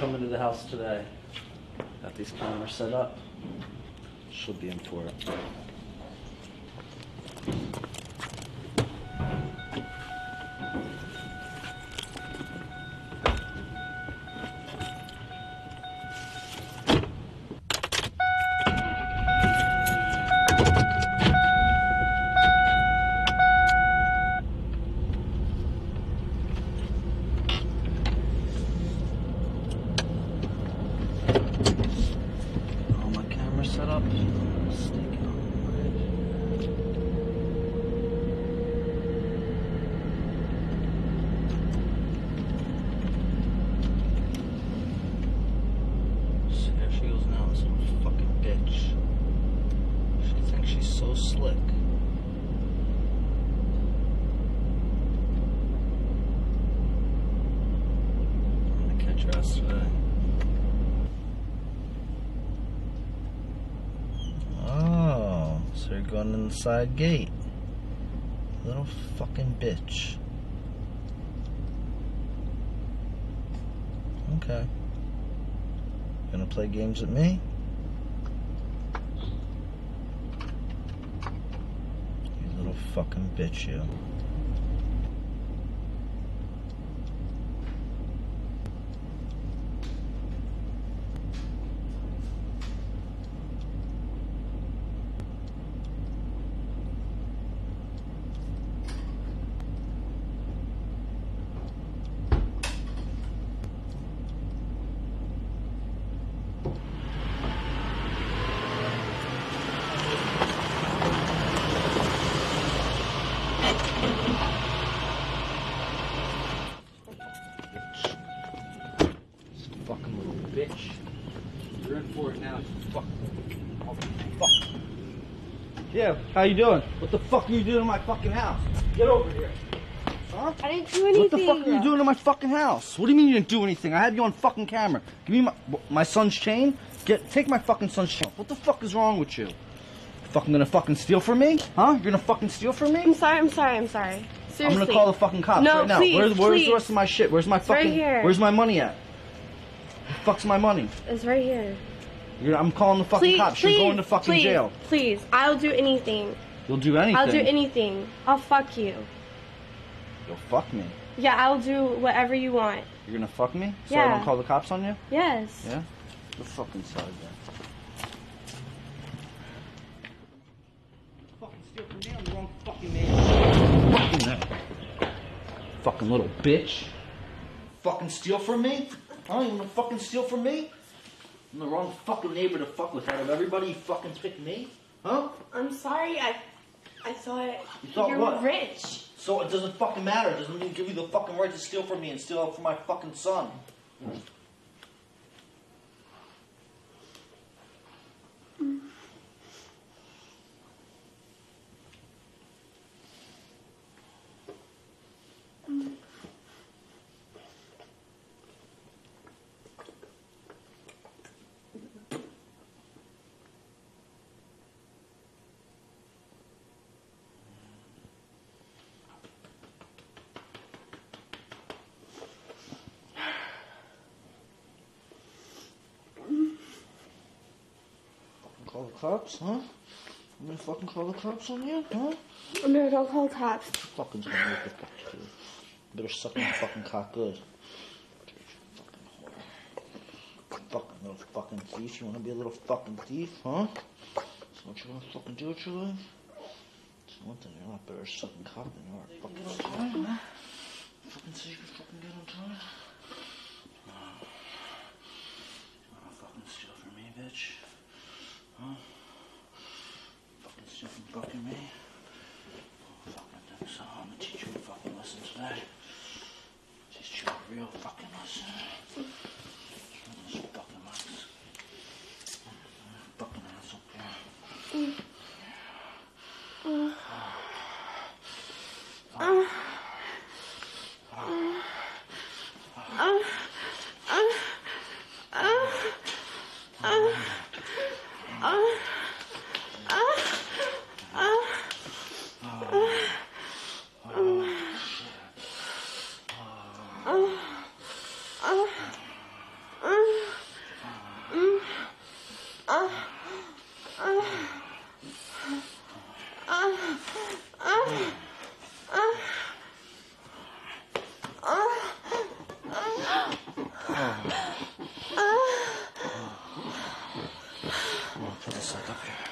coming to the house today. Got these cameras set up. She'll be in for it. Set up. Sneaking on the bridge. So there she goes now, this little fucking bitch. She thinks she's so slick. I'm gonna catch her ass today. So you're going in the side gate. Little fucking bitch. Okay. Gonna play games with me? You little fucking bitch, you. Fucking little bitch. You're in for it now, you fucking. Oh, fuck. Yeah, how you doing? What the fuck are you doing in my fucking house? Get over here. Huh? I didn't do anything. What the fuck are you doing in my fucking house? What do you mean you didn't do anything? I have you on fucking camera. Give me my son's chain. Take my fucking son's chain. What the fuck is wrong with you? Fucking gonna fucking steal from me? Huh? You're gonna fucking steal from me? I'm sorry. Seriously. I'm gonna call the fucking cops right now. Please, Where's the rest of my shit? Where's my fucking? Right here. Where's my money at? The fuck's my money? It's right here. I'm calling the fucking cops. You're going to fucking jail. Please, I'll do anything. You'll do anything? I'll do anything. I'll fuck you. You'll fuck me? Yeah, I'll do whatever you want. You're gonna fuck me? So Yeah. I don't call the cops on you? Yes. Yeah? The fucking side then. Fucking steal from me on the wrong fucking name. Fucking that. Fucking little bitch. Fucking steal from me? Huh? You wanna fucking steal from me? I'm the wrong fucking neighbor to fuck with. Out of everybody, you fucking pick me? Huh? I'm sorry. I thought You thought you what? were rich. So it doesn't fucking matter. It doesn't even give you the fucking right to steal from me and steal from my fucking son. Call the cops, huh? I'm gonna fucking call the cops on you, huh? No, don't call cops. Fucking gonna make the fuck too. Better suck my fucking cock good. Fucking whore. Fucking little fucking thief. You wanna be a little fucking thief, huh? So what you wanna fucking do with your life? So one thing, you're a lot better at sucking cock than you are fucking on time, huh? Fucking say you can fucking get on time. You wanna fucking steal from me, bitch? Huh? Fucking steal from fucking me? Oh, fucking think so. I'm gonna teach you a fucking lesson today. Teach you a real fucking lesson. This fucking mics. Fucking ass up here. Put this like up here.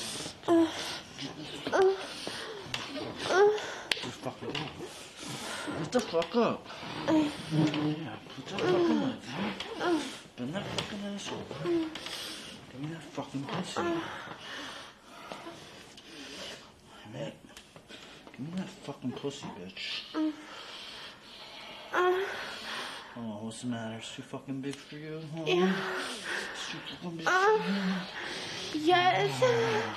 Just fucking do it. Get the fuck up. Yeah, put that fucking legs, huh? Bend that fucking ass over. Give me that fucking pussy. Hey, give me that fucking pussy, bitch. Oh, what's the matter? It's too fucking big for you? Huh? Yeah. It's too fucking big for you? Yes.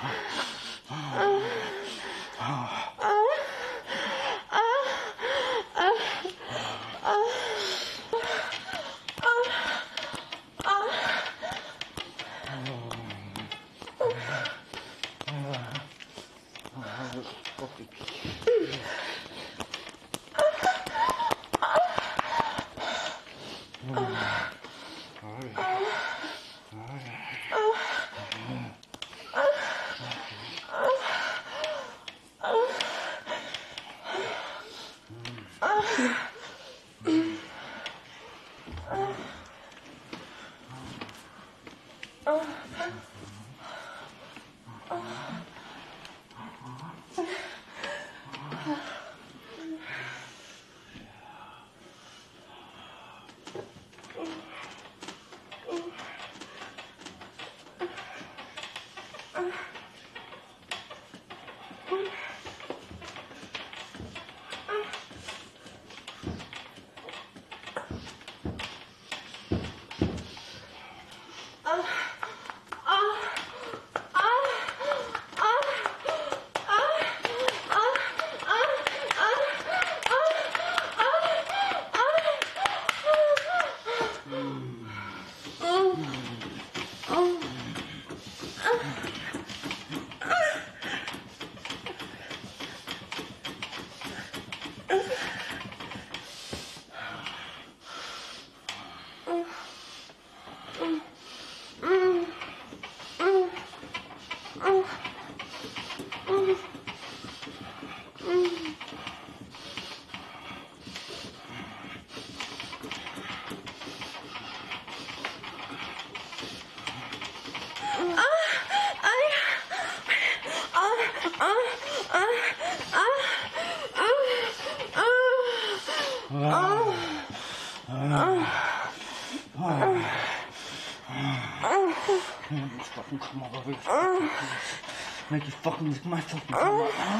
Just fucking come all over your fucking face. Make you fucking lick my fucking tongue up, huh?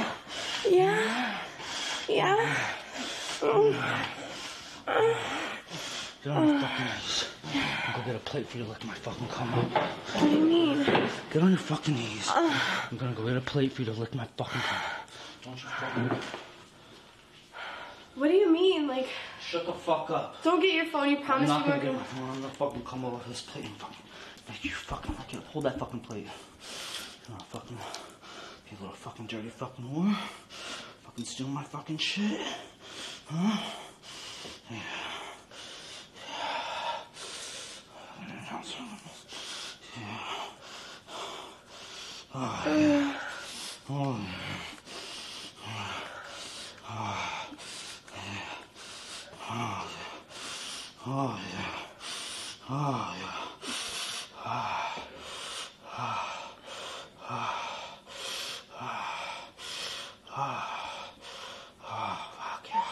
Yeah. Yeah. Get on your fucking knees. I'll go get a plate for you to lick my fucking cum up. What do you mean? Get on your fucking knees. I'm gonna go get a plate for you to lick my fucking cum. Don't you fucking... What do you mean? Like, Shut the fuck up. don't get your phone. You I'm promised not you gonna weren't get gonna. my phone. I'm gonna fucking come over to this plate and fucking make you fucking lick it. Hold that fucking plate. You know, fucking, you little fucking dirty fucking whore. Fucking steal my fucking shit. Huh? Yeah. Oh, yeah. Oh, yeah. Oh, yeah. Oh, yeah. Fuck yeah.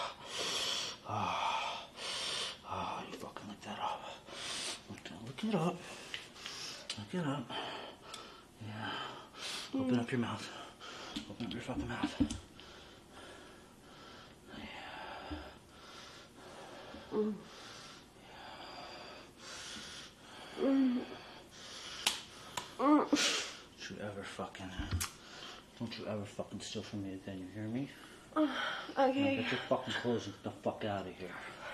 Oh, you fucking lick that up. Look it up. Look it up. Yeah. Open up your mouth. Open up your fucking mouth. Don't you ever fucking steal from me again, you hear me? Okay. Now get your fucking clothes and get the fuck out of here.